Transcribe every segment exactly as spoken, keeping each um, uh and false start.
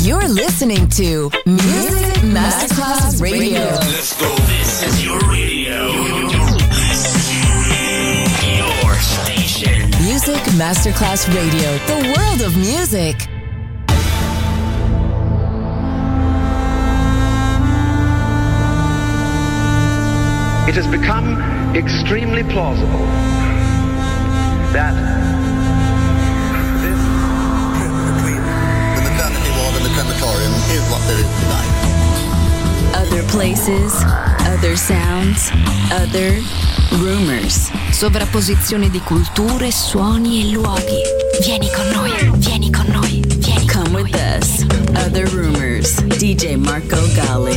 You're listening to Music Masterclass Radio. Let's go. This is your radio. Your station. Music Masterclass Radio. The world of music. It has become extremely plausible that this trip between the maternity ward and the crematorium is what there is tonight. Other places, other sounds, other rumors. Sovrapposizione di culture, suoni e luoghi. Vieni con noi, vieni con noi, vieni con noi. Come with us. Other rumors. D J Marco Gally.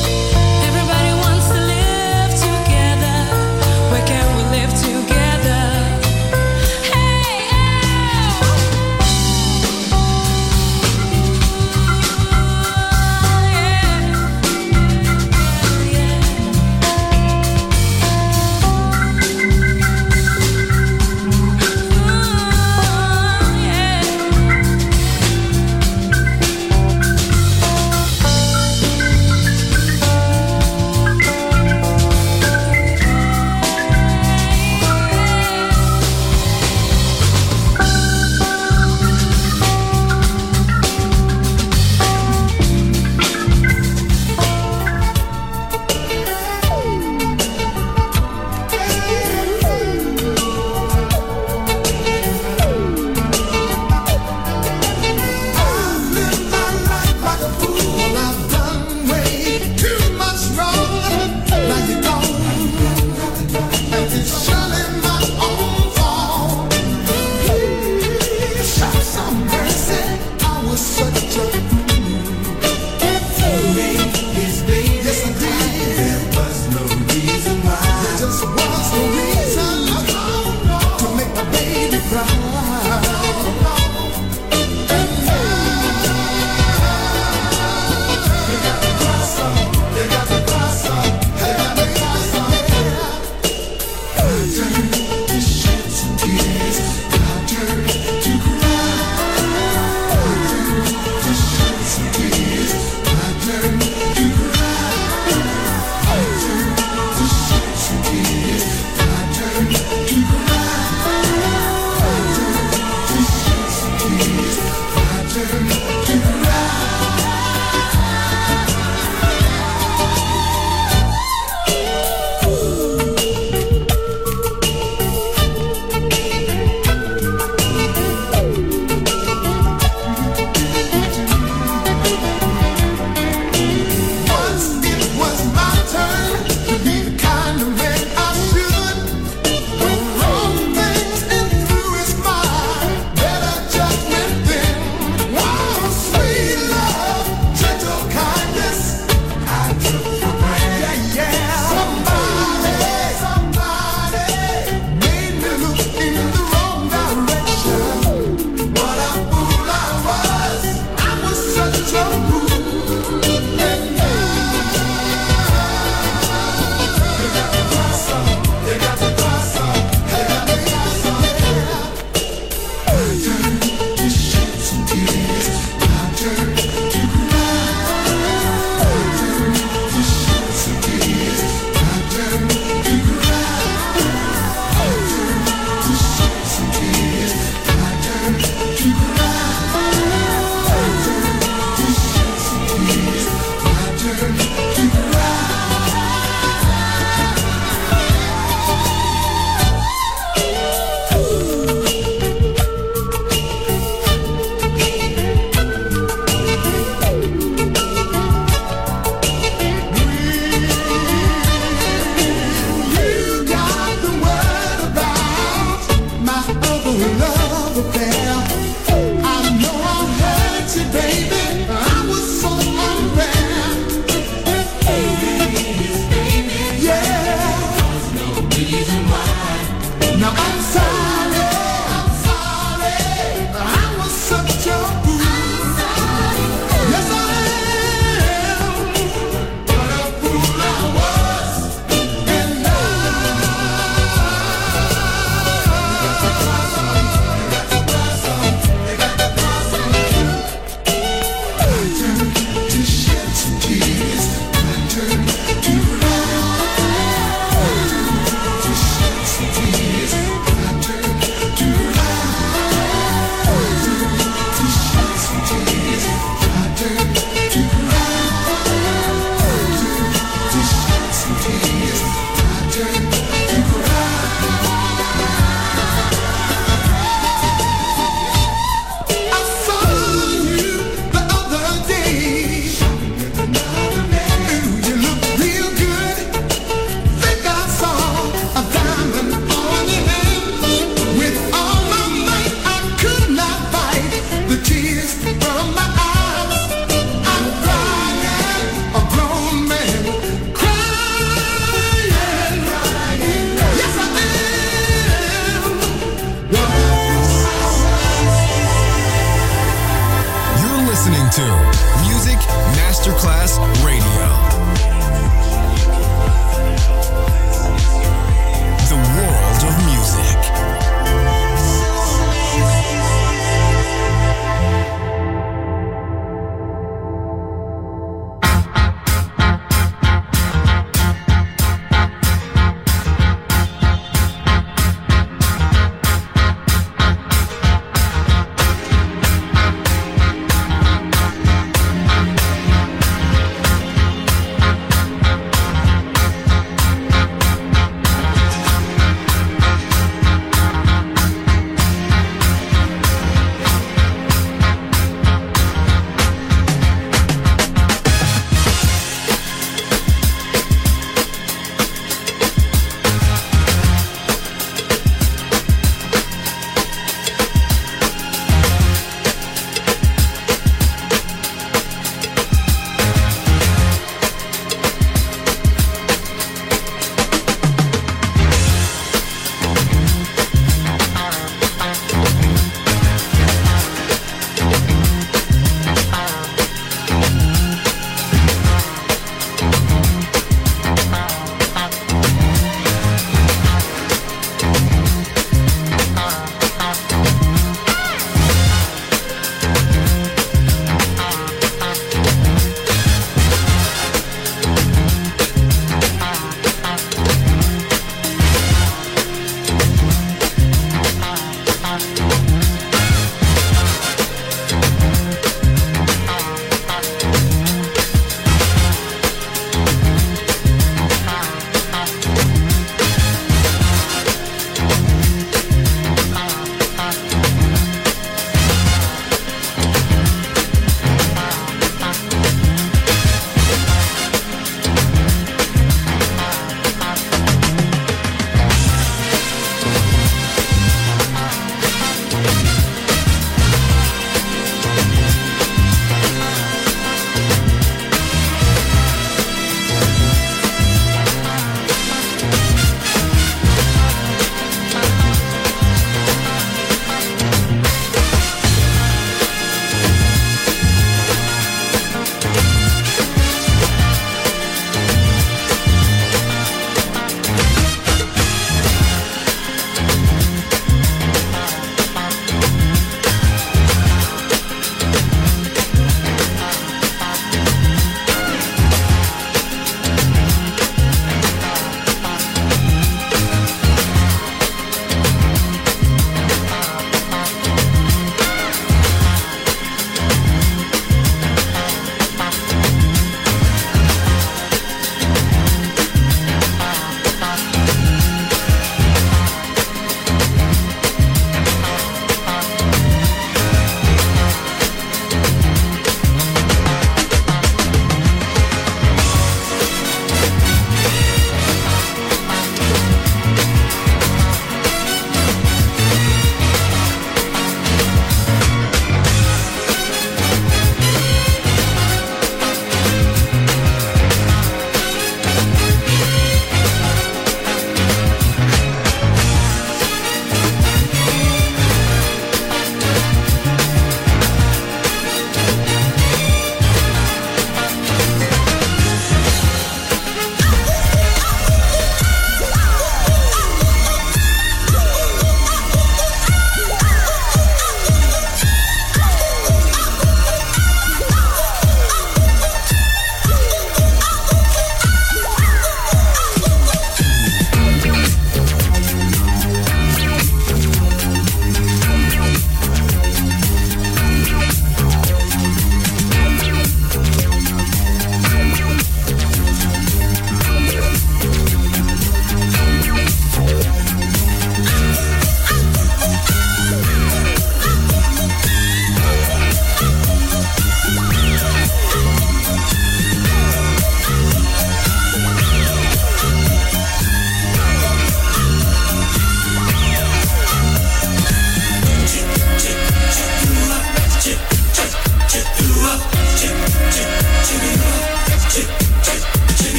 Everybody wants to live together. Where can we live together? Yes,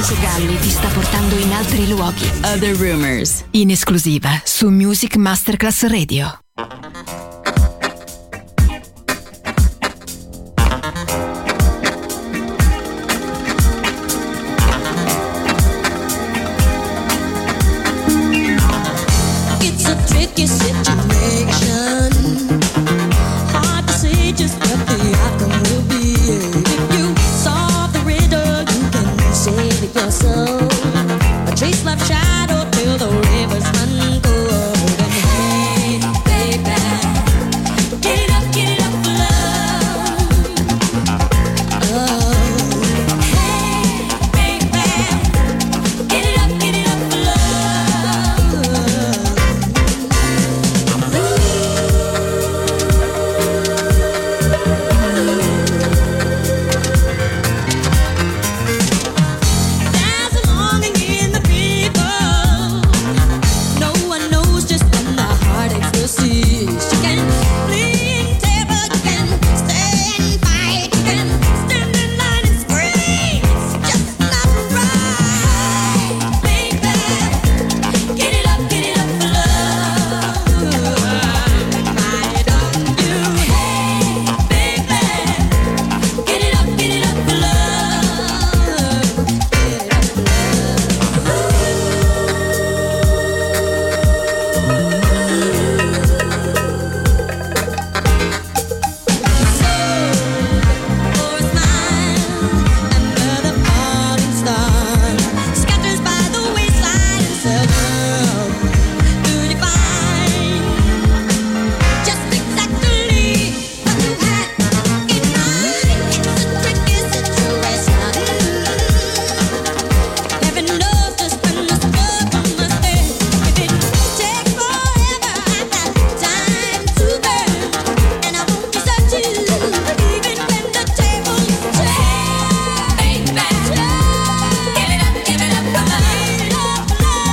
Enzo Galli ti sta portando in altri luoghi. Other Rumors, in esclusiva su Music Masterclass Radio. It's a tricky situation. Hard to say just what the outcome will be. If you solve the riddle, you can save your soul. A trace left shadow till the rivers run cold. And hey, baby, get it up, get it up for love. Oh, hey, baby, get it up, get it up for love. There's a longing in the people. No one knows just when the heartaches will cease. You can plead table, you can stay and fight, you can stand in line and scream. It's just not right, baby. Get it up, get it up for love. Why don't you, hey, baby, get it up, get it up for love. Get it up for for a smile under the falling star, scatters by the wayside and seldom do you find just exactly what you had in mind. It's a tricky situation. Heaven knows just when the struggle must end. If it takes forever, I've got time to burn, and I won't desert you even when the tables turn. Baby, give it up, give it up for love.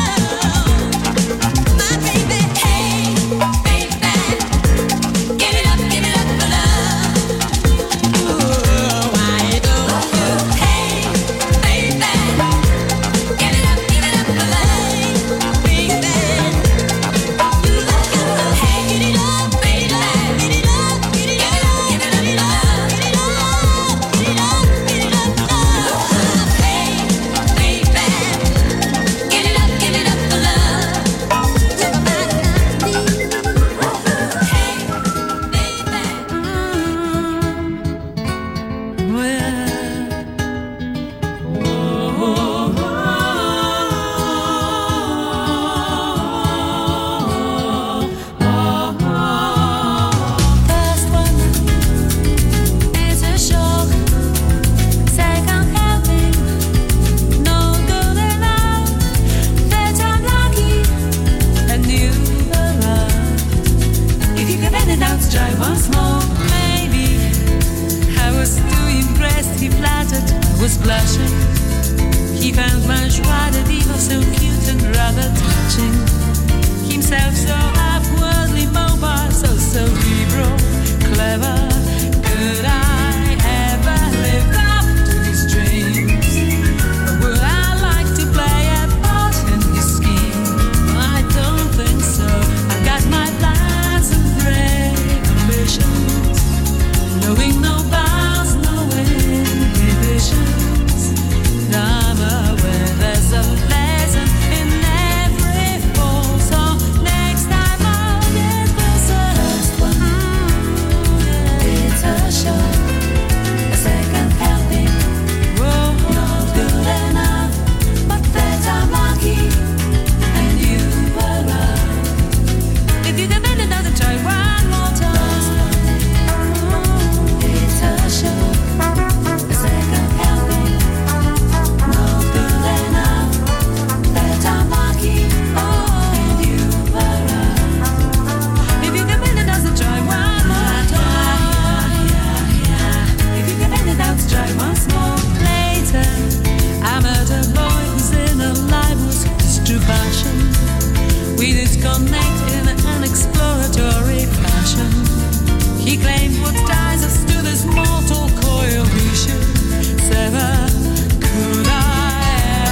My baby, hey, baby, give it up, give it up for love. Why don't you, hey, baby, give it up, give it up for love, baby. You got to, hey, get it up, baby, get it up, get it up, give it up, get it up, get it up, get it up, get it up, love. Hey, baby, get it up, give it up for love. Talk about it now, hey, baby. First one is a shock. Second helping, no good enough. Third I'm lucky, and you arrived. If you can bend it down to try once more, maybe. I was too impressed, he flattered, I was blushing. He found my joie de vivre so cute and rather touching. Himself so half-worldly, mobile, so cerebral, clever. Could I ever live up to his dreams? Or would I like to play a part in his scheme? I don't think so. I've got my plans and brave ambitions, knowing no bounds, no inhibitions. And I'm aware there's a lesson in every fall. So next time I'll get closer. First one, it's a shock. A second helping, not good enough. But that I'm lucky, and you arrived. If you can bend it down and try one more time. It's a shock. A second helping, not good enough. That I'm lucky, and you arrived. If you can bend it down and try one more time. If you can bend it down to try once more later. I met a boy who's in a life was his true passion. We disconnect in an exploratory fashion. He claimed what ties us to this mortal coil we should sever. Could I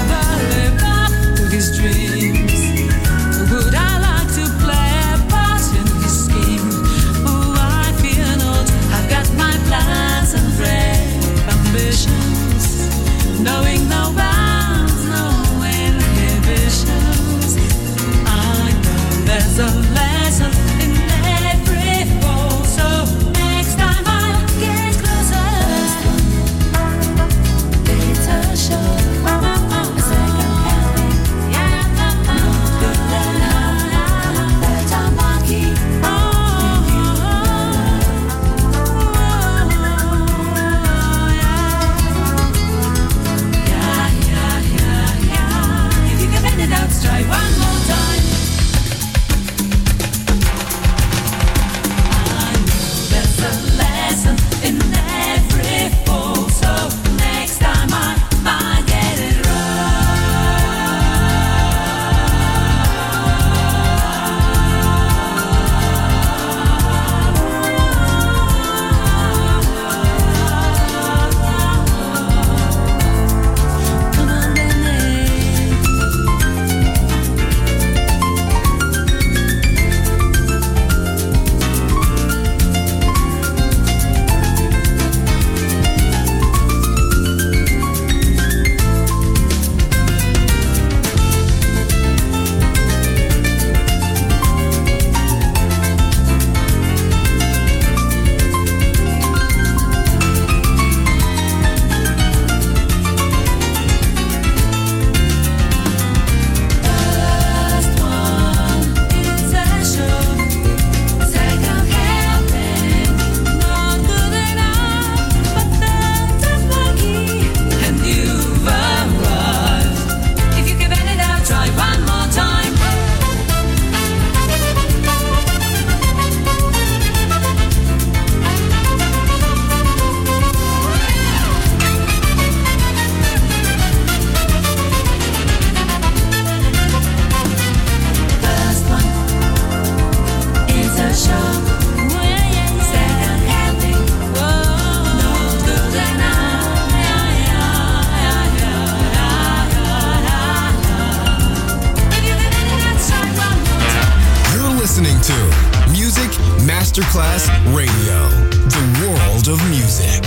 Masterclass Radio, the world of music.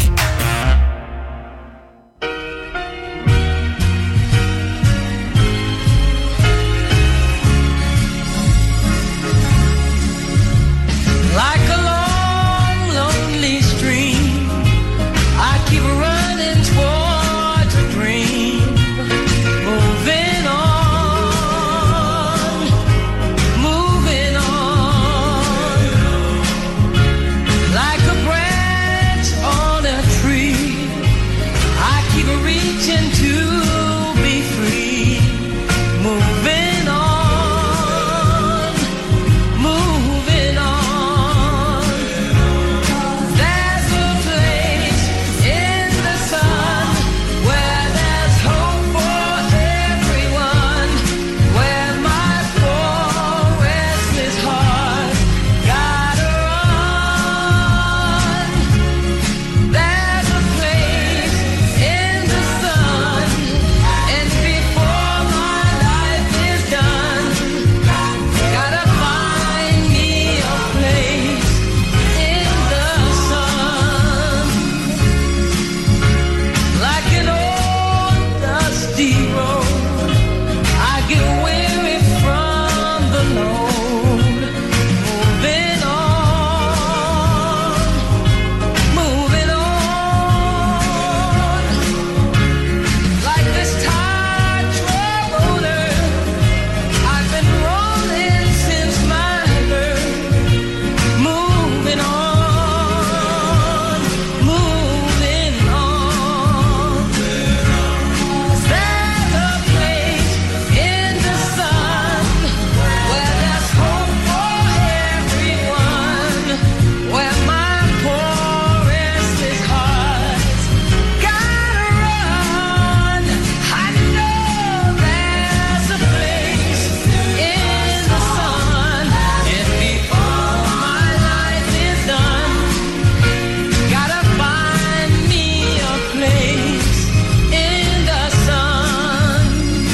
Like a long, lonely stream, I keep running towards a dream, moving on, moving on. Like a branch on a tree, I keep reaching to be free, moving on, moving on. There's a place in the sun where there's hope for everyone, where my poor restless heart gotta run. There's a place in the sun, and before my life is done, gotta find me a place in the sun. Like an old dusty road, I get weary from the load, moving on, moving on. Like this tired traveler, I've been rolling since my birth, moving on, moving on. There's a place in the sun where there's hope for everyone, where my poor restless heart's gotta run. I know there's a place in the sun, and before my life is done, gotta find me a place in the sun.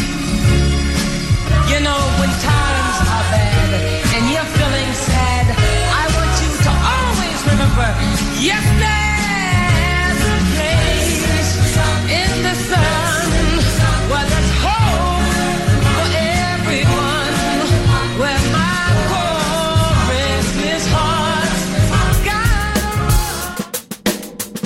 You know, when times are bad and you're feeling sad, I want you to always remember, yes, there's a place in the sun where there's hope for everyone, where my poor restless heart's gotta run.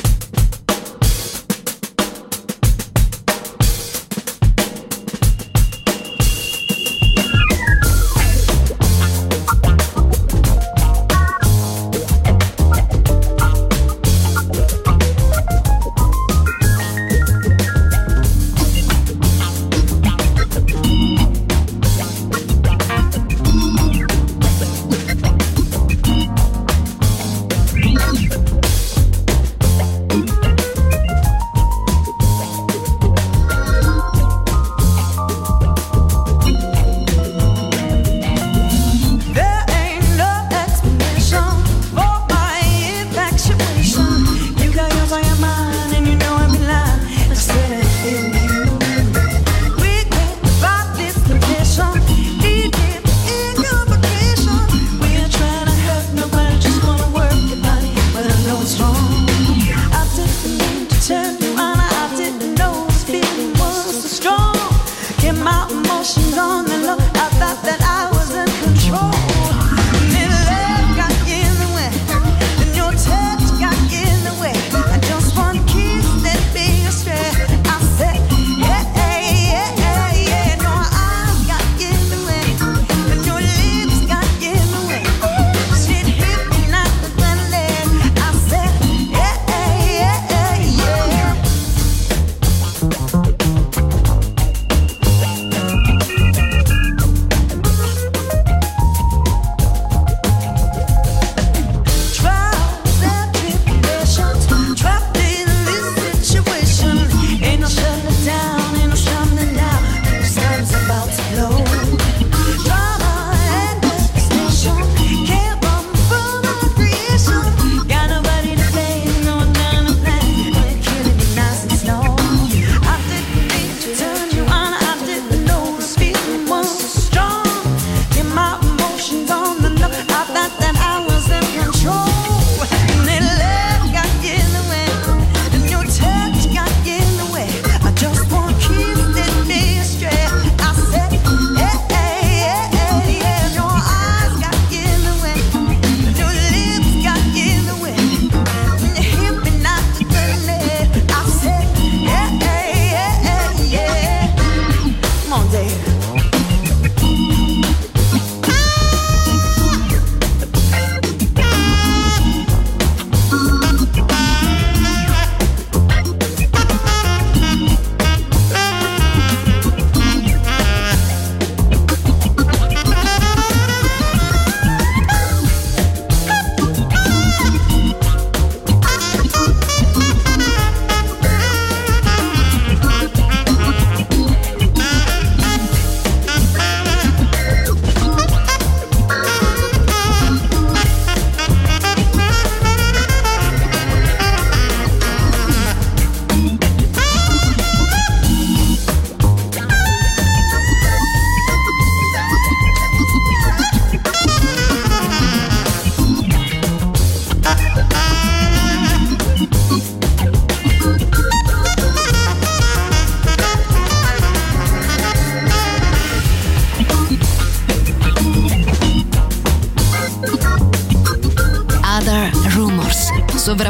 There ain't no explanation for my infatuation. You got yours, I got mine, and you know I'm in line. I said I feel you. We can't fight this condition. Need it in your vacation. We ain't trying to hurt nobody, just wanna work your body, but I know it's wrong. I didn't mean to turn you on. I didn't know this feeling was so strong. Get my emotions on the low. I thought that I was in control. Then love got in the way, and your touch got in the way. I just want to kiss that be astray. I said, yeah, yeah, yeah, yeah. No, eyes got in the way, and your lips got in the way. Shit hit me like a grenade. I said, yeah, yeah, yeah, yeah.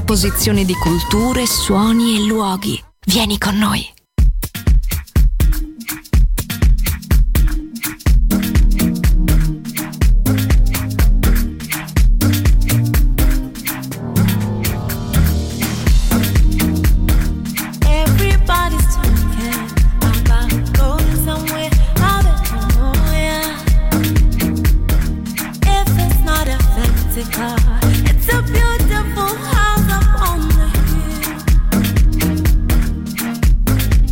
sovrapposizione di culture, suoni e luoghi. Vieni con noi. It's a beautiful house up on the hill.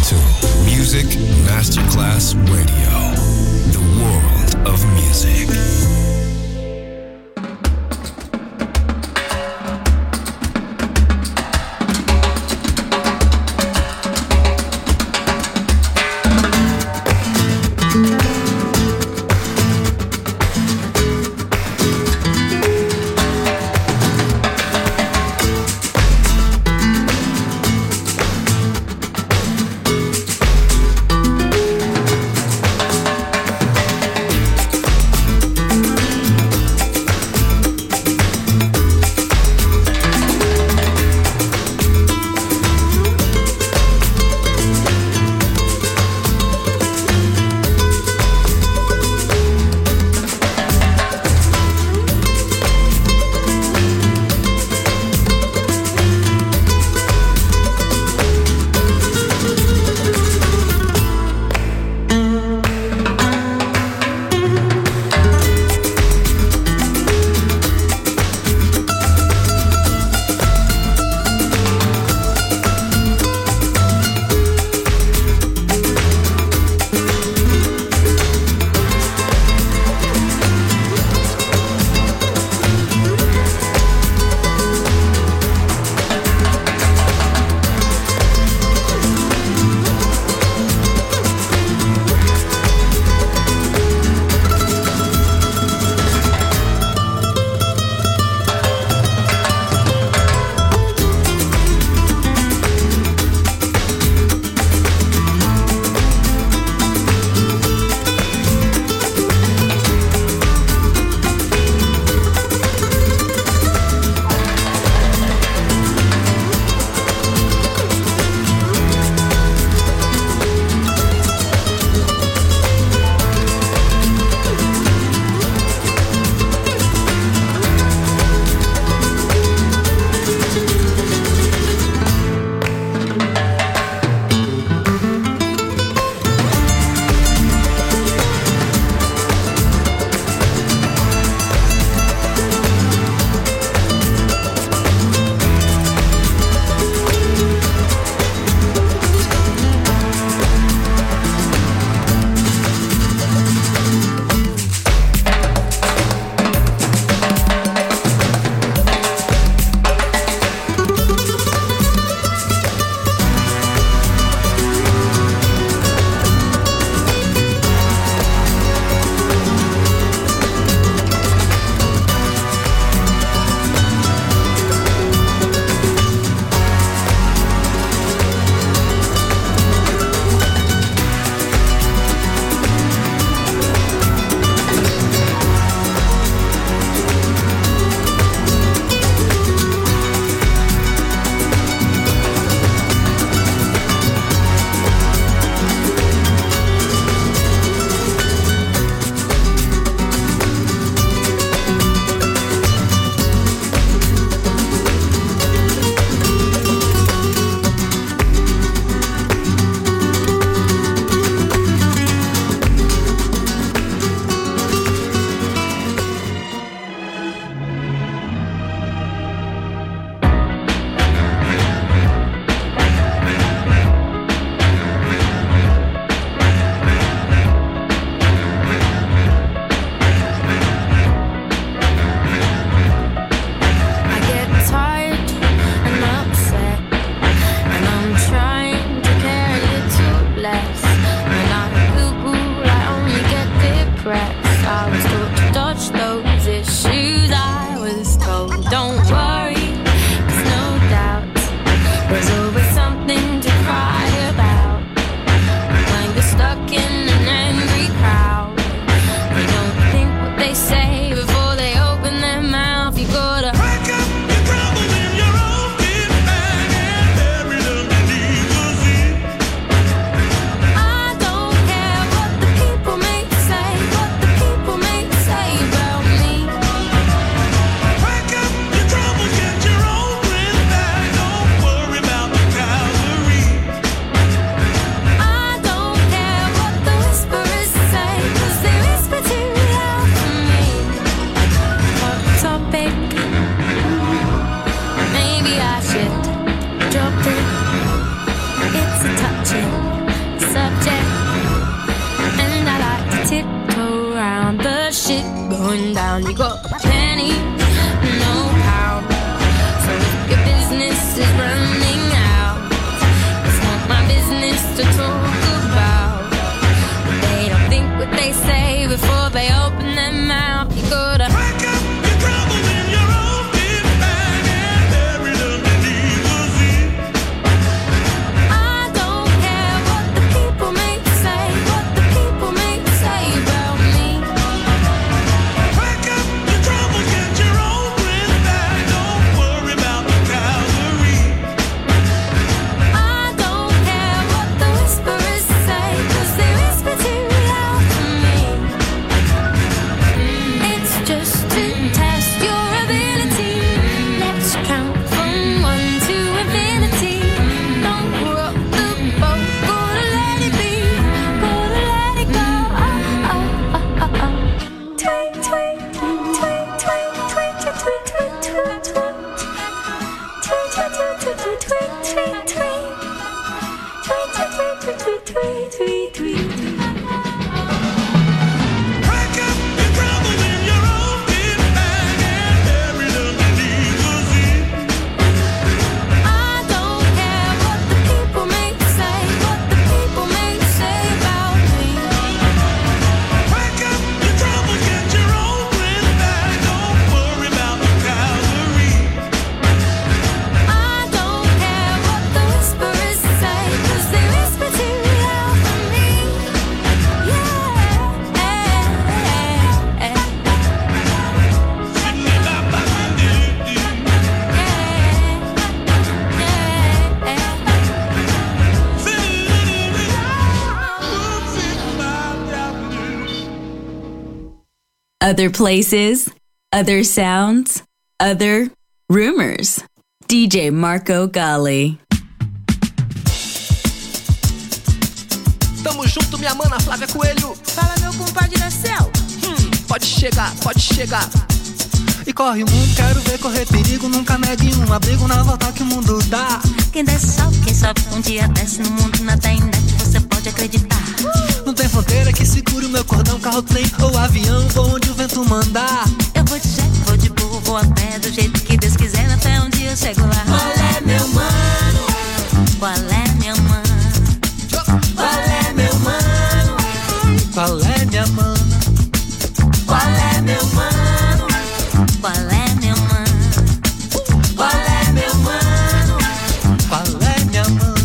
to Music Masterclass Radio, the world of music. going down. You got penny, no pound. So if your business is running out, it's not my business to talk about. They don't think what they say before they open their mouth. You gotta wake up your troubles in your own big bag and bury them beneath the sea. I don't care what the people may say, what the people may say about me. Wake up your troubles, get your own breath back. Don't worry about the cavalry. I don't care what the whisperers say, 'cause they whisper too loud for me. It's just to test your ability. Let's count from one to infinity. Don't rock the boat, gotta let it be, gotta let it go. Oh, oh, oh, oh, oh. Tweet, tweet, tweet, tweet, tweet, tweet, tweet, tweet, tweet, tweet. Tweet, tweet, tweet, tweet, tweet, tweet, tweet. Tweet, tweet, tweet, tweet, tweet, tweet, tweet, tweet. Wake up your troubles in your own big bag and bury them beneath the sea. I don't care what the people may say, what the people may say about me. Wake up your troubles, get your own breath back. Don't worry about the cavalry. I don't care what the whisperers say, 'cause they whisper too loud for me. Other places, other sounds, other rumors. D J Marco Gally. Tamo junto, minha mana Flávia Coelho. Fala, meu compadre da Céu. Hum, pode chegar, pode chegar. E corre o mundo, quero ver correr perigo. Nunca negue um abrigo na volta que o mundo dá. Quem desce sobe, quem sobe um dia desce. No mundo nada ainda que você pode acreditar. Não tem fronteira que segure o meu cordão. Carro, trem ou avião, vou onde o vento mandar. Eu vou de jet, vou de burro, vou a pé. Do jeito que Deus quiser, até um dia eu chego lá. Qual é, meu mano? Qual é, meu mano? Qual é, meu mano? Qual é, minha mana? Qual é, meu mano? Qual é, meu mano? Qual é, meu mano? Qual é, minha mana?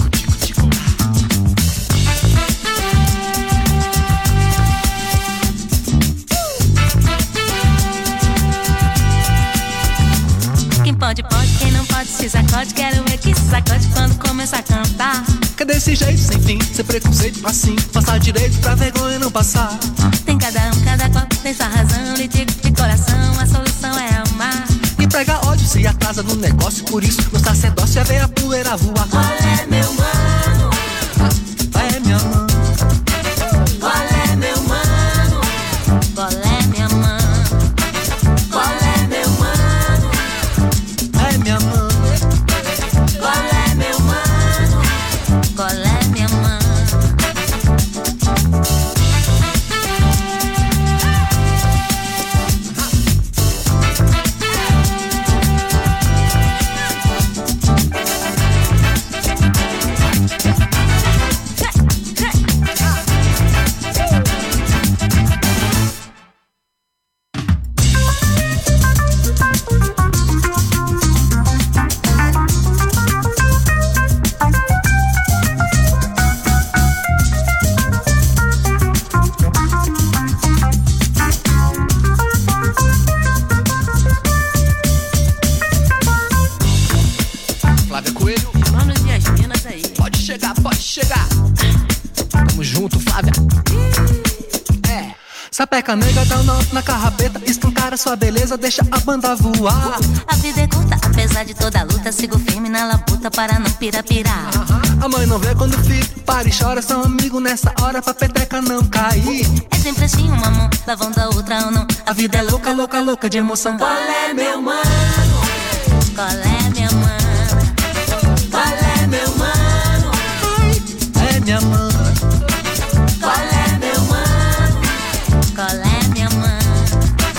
Quem pode, pode, quem não pode se sacode. Quero ver que se sacode quando começar a cantar. Que desse jeito sem fim, sem preconceito assim. Passar direito pra vergonha não passar. Tem cada um, cada qual tem sua razão. Lhe digo de coração, a solução é amar. E prega ódio se atrasa no negócio. Por isso no sacerdócio é ver a poeira voar. Qual é, meu mano? É minha mana. Qual é, meu mano? Qual é, minha mãe? Qual é, meu mano? É minha mana. Qual é, meu mano? Qual é, minha mãe? Flávia Coelho. Manos e as minas aí. Pode chegar, pode chegar. Tamo junto, Flávia. É. Sapeca nega, dá um nó na carrapeta. Escancara sua beleza, deixa a banda voar. A vida é curta, apesar de toda a luta. Sigo firme na labuta para não pirapirar. A mãe não vê quando o filho para e chora. São amigos nessa hora pra peteca não cair. É sempre assim, uma mão lavando a outra ou não. A vida é louca, louca, louca de emoção. Qual é, meu mano? Qual é, minha mãe? Qual é, meu mano? É minha mana. Qual é, meu mano? Qual é, minha mãe?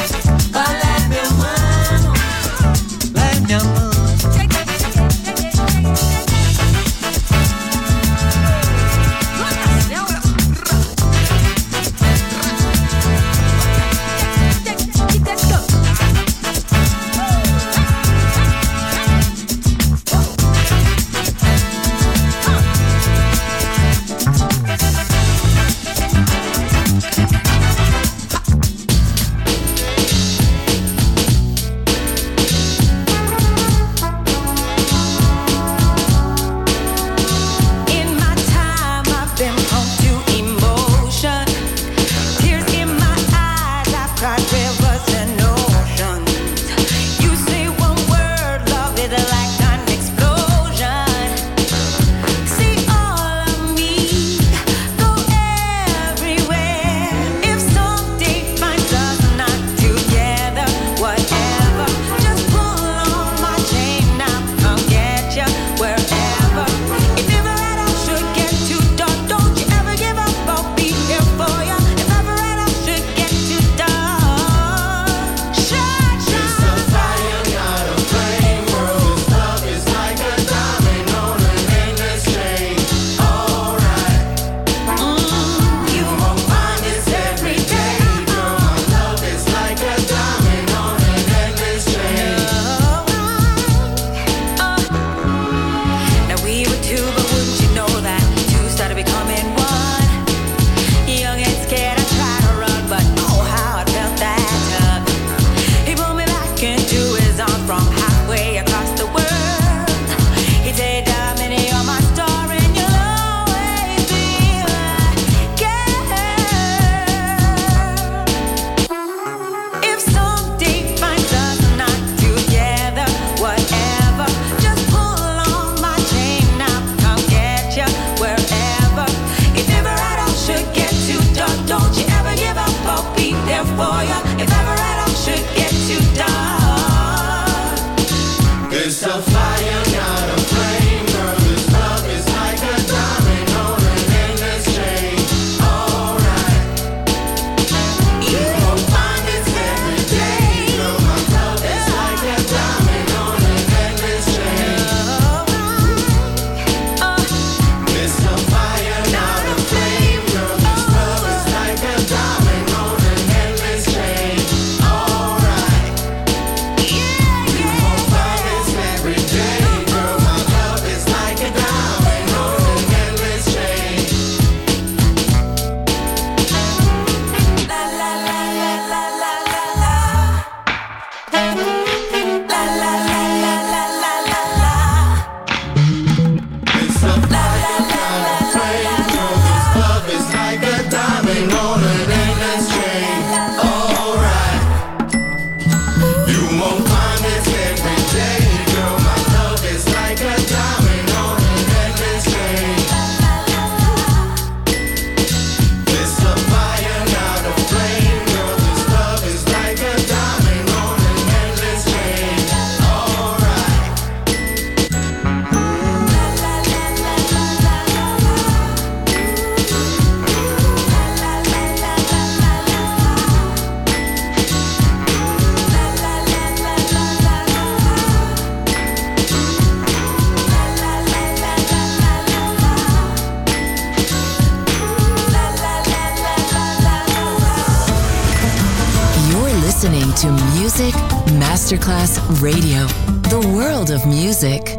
Music Masterclass Radio. The world of music.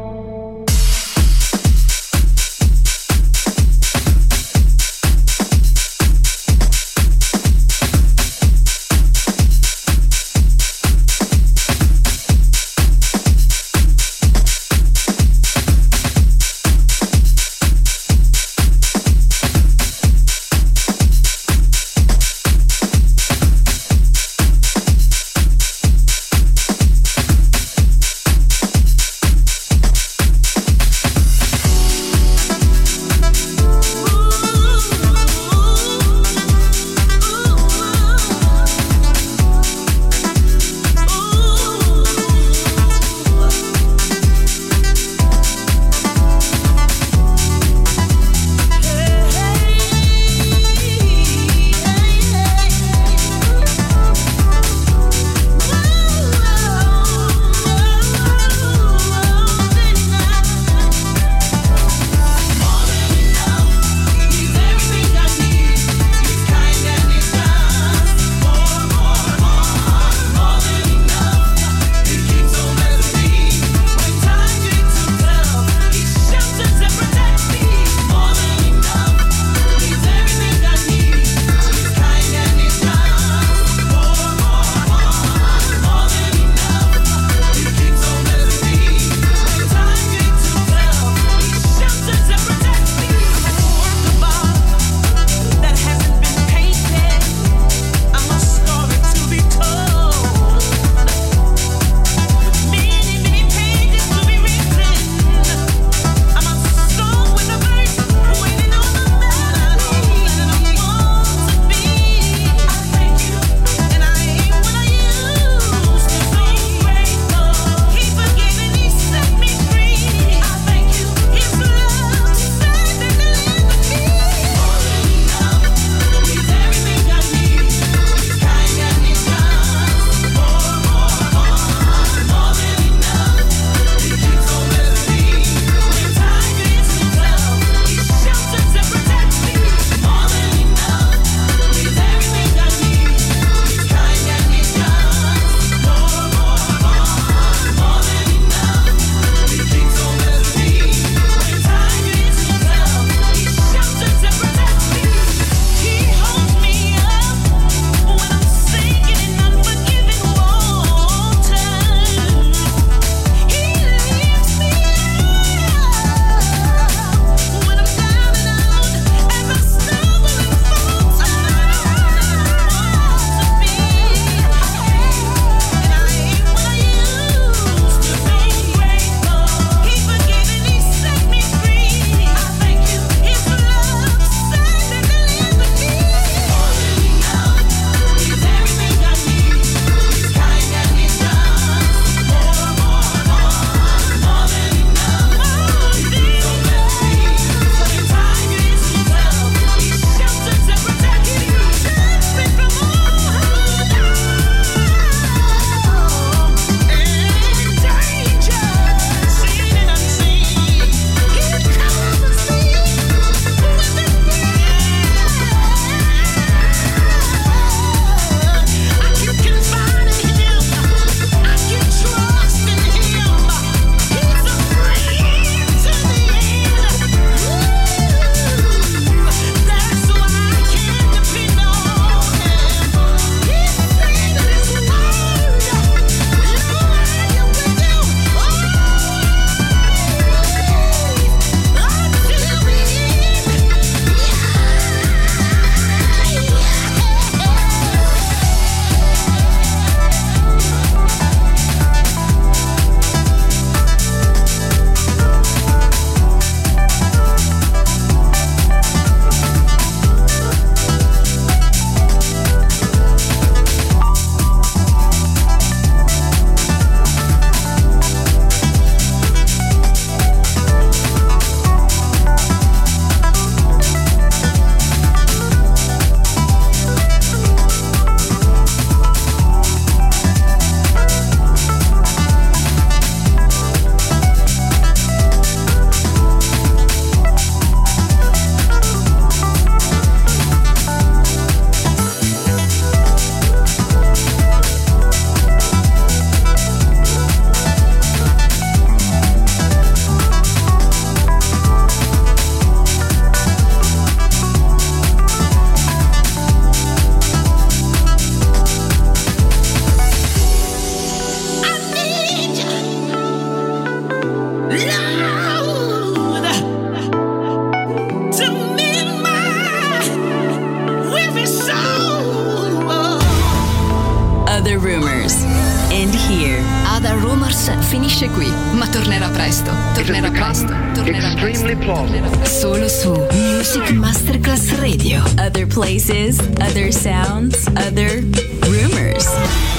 finisce qui, ma tornerà presto. Tornerà presto. Tornerà extremely presto. plausible Tornerà solo su Music Masterclass Radio. Other places, other sounds, other rumors.